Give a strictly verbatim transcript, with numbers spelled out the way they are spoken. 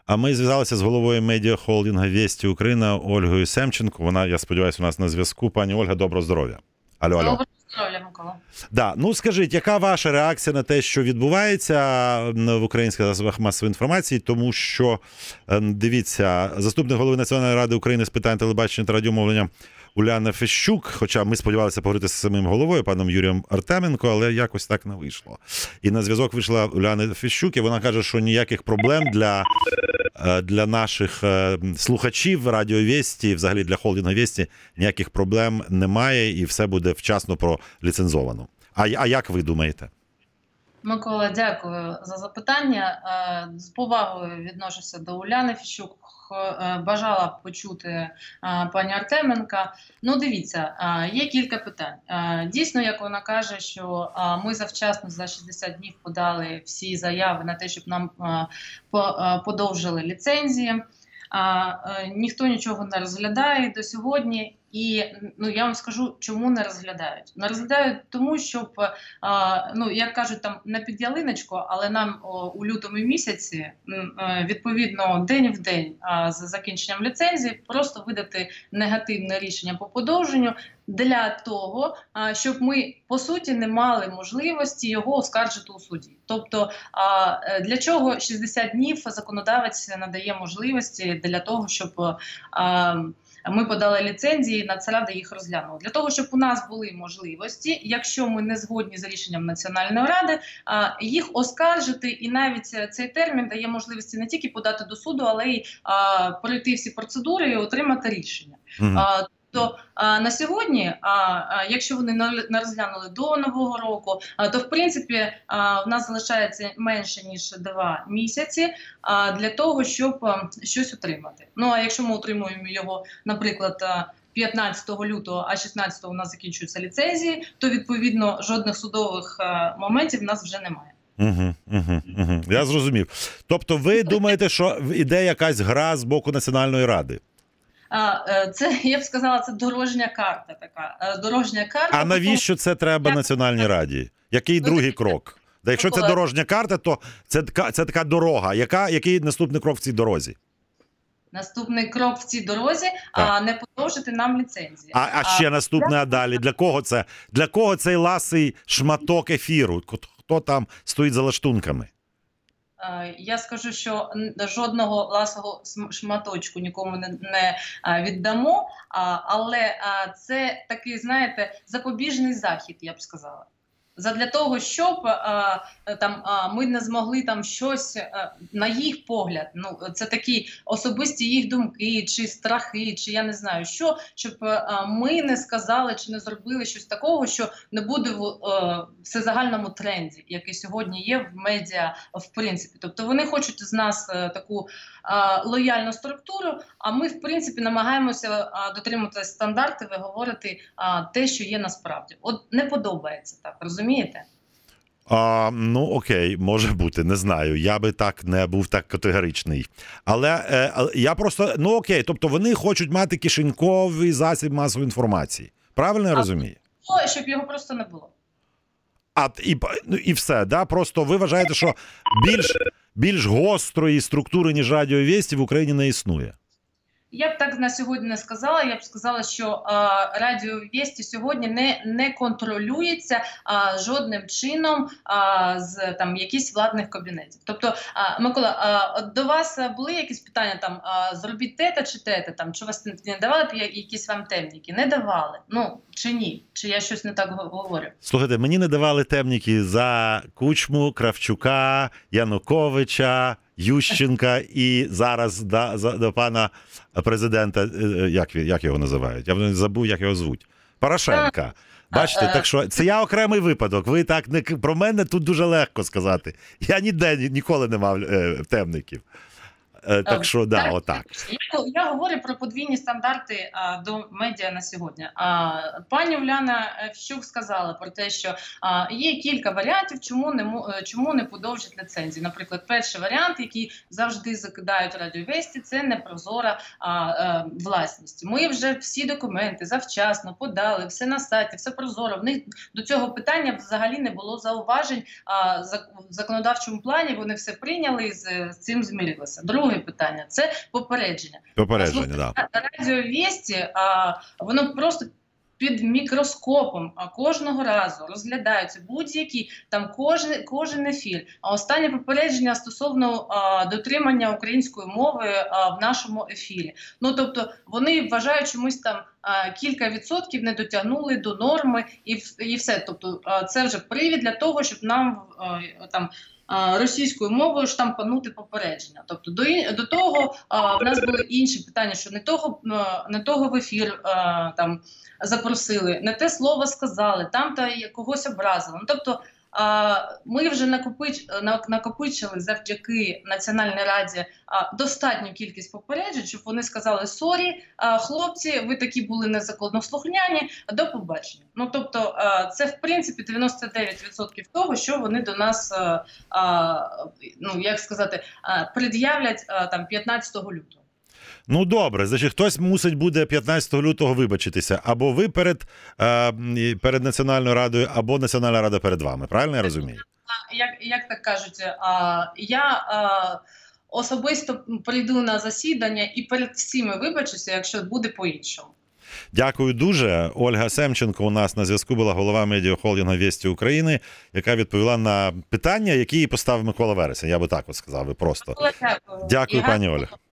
А ми зв'язалися з головою медіахолдингу «Вєсті Україна» Ольгою Семченко. Вона, я сподіваюся, у нас на зв'язку. Пані Ольга, доброго здоров'я. Алло, алло. Доброго здоров'я, Микола. Да. Ну, скажіть, яка ваша реакція на те, що відбувається в українських засобах масової інформації? Тому що, дивіться, заступник голови Національної ради України з питань телебачення та радіомовлення Уляна Фещук, хоча ми сподівалися поговорити з самим головою, паном Юрієм Артеменко, але якось так не вийшло. І на зв'язок вийшла Уляна Фещук, і вона каже, що ніяких проблем для, для наших слухачів Радіо Вєсті, взагалі для холдингу Вєсті, ніяких проблем немає і все буде вчасно проліцензовано. А, а як ви думаєте? Микола, дякую за запитання. З повагою відношуся до Уляни Фещук. Бажала б почути пані Артеменка. Ну, дивіться, є кілька питань. Дійсно, як вона каже, що ми завчасно за шістдесят днів подали всі заяви на те, щоб нам подовжили ліцензії. Ніхто нічого не розглядає до сьогодні. І ну я вам скажу, чому не розглядають. Не розглядають тому, щоб, а, ну як кажуть, там не під ялиночку, але нам о, у лютому місяці, відповідно, день в день а, з закінченням ліцензії, просто видати негативне рішення по подовженню для того, а, щоб ми, по суті, не мали можливості його оскаржити у суді. Тобто, а, для чого шістдесят днів законодавець надає можливості для того, щоб а, ми подали ліцензії, Нацрада їх розглянула. Для того, щоб у нас були можливості, якщо ми не згодні з рішенням Національної ради, їх оскаржити. І навіть цей термін дає можливості не тільки подати до суду, але й пройти всі процедури і отримати рішення. Mm-hmm. То а, на сьогодні, а, а, якщо вони не розглянули до Нового року, а, то в принципі а, в нас залишається менше ніж два місяці а, для того, щоб а, щось отримати. Ну а якщо ми отримуємо його, наприклад, п'ятнадцятого лютого, а шістнадцятого у нас закінчуються ліцензії, то відповідно жодних судових а, моментів в нас вже немає. Угу, угу, угу. Я зрозумів. Тобто ви думаєте, що іде якась гра з боку Національної ради? Це, я б сказала, це дорожня карта така. Дорожня карта. А навіщо це треба Національній раді? Який другий крок? Да, якщо це дорожня карта, то це така, це така дорога. Яка, який наступний крок в цій дорозі? Наступний крок в цій дорозі – а не подовжити нам ліцензії. А, а ще наступне, а далі? Для кого це? Для кого цей ласий шматок ефіру? Хто там стоїть за лаштунками? Я скажу, що жодного ласого шматочку нікому не, не віддамо, але це такий, знаєте, запобіжний захід, я б сказала. Задля того, щоб а, там а, ми не змогли там щось а, на їх погляд, ну це такі особисті їх думки, чи страхи, чи я не знаю що, щоб а, ми не сказали чи не зробили щось такого, що не буде в а, всезагальному тренді, який сьогодні є в медіа в принципі. Тобто вони хочуть з нас а, таку а, лояльну структуру, а ми в принципі намагаємося а, дотримуватися стандартів і говорити а, те, що є насправді. От не подобається так, розумієте? А, ну, окей, може бути, не знаю. Я би так не був так категоричний. Але е, я просто, ну окей, тобто вони хочуть мати кишеньковий засіб масової інформації. Правильно я а, розумію? Ну, щоб його просто не було. А, і, ну, і все, да? Просто ви вважаєте, що більш, більш гострої структури, ніж Радіо Вєсті, в Україні не існує? Я б так на сьогодні не сказала. Я б сказала, що а, Радіо Вєсті сьогодні не, не контролюється а, жодним чином а, з там якісь владних кабінетів. Тобто, а, Микола, а, до вас були якісь питання там, а, зробіть те-та чи те-та, там, чи вас не давали якісь вам темніки? Не давали. Ну, чи ні? Чи я щось не так говорю? Слухайте, мені не давали темніки за Кучму, Кравчука, Януковича, Ющенка і зараз до, до пана президента, як, як його називають? Я забув, як його звуть. Порошенка. Бачите, так що це я окремий випадок. Ви так не про мене тут дуже легко сказати. Я ніде ніколи не мав е, темників. Так що, да, отак. Я, я говорю про подвійні стандарти а, до медіа на сьогодні. А, пані Уляна Фещук сказала про те, що а, є кілька варіантів, чому не, чому не подовжать ліцензії. Наприклад, перший варіант, який завжди закидають Радіо Вєсті, це непрозора а, а, власність. Ми вже всі документи завчасно подали, все на сайті, все прозоро. В них до цього питання взагалі не було зауважень. А, в законодавчому плані вони все прийняли і з, з цим змирилися. Другий друге питання – це попередження. Попередження, да. Радіо Вісті, а, воно просто під мікроскопом а кожного разу розглядаються будь-які там кожен, кожен ефір. А останнє попередження стосовно а, дотримання української мови а, в нашому ефірі. Ну тобто вони вважають чомусь там а, кілька відсотків не дотягнули до норми і, і все. Тобто а, це вже привід для того, щоб нам а, там. Російською мовою штампанути попередження. Тобто до, до того а, в нас були інші питання, що не того, не того в ефір а, там запросили, не те слово сказали, там та когось образили. Ну, тобто а, ми вже накопич, накопичили завдяки Національній раді а, достатню кількість попереджень, щоб вони сказали: сорі, а, хлопці, ви такі були незаконнослухняні, до побачення. Ну тобто а, це в принципі дев'яносто дев'ять відсотків того, що вони до нас, а, а, ну як сказати, а, пред'являть а, там п'ятнадцятого лютого. Ну добре, значить, хтось мусить буде п'ятнадцятого лютого вибачитися. Або ви перед, е, перед Національною Радою, або Національна Рада перед вами. Правильно я розумію? Як, як так кажуть, а, я а, особисто прийду на засідання і перед всіми вибачуся, якщо буде по-іншому. Дякую дуже. Ольга Семченко у нас на зв'язку була, голова медіахолдингу «Вісті України», яка відповіла на питання, які їй поставив Микола Вересень. Я би так от сказав, ви просто. Дякую. Дякую, пані Ольга.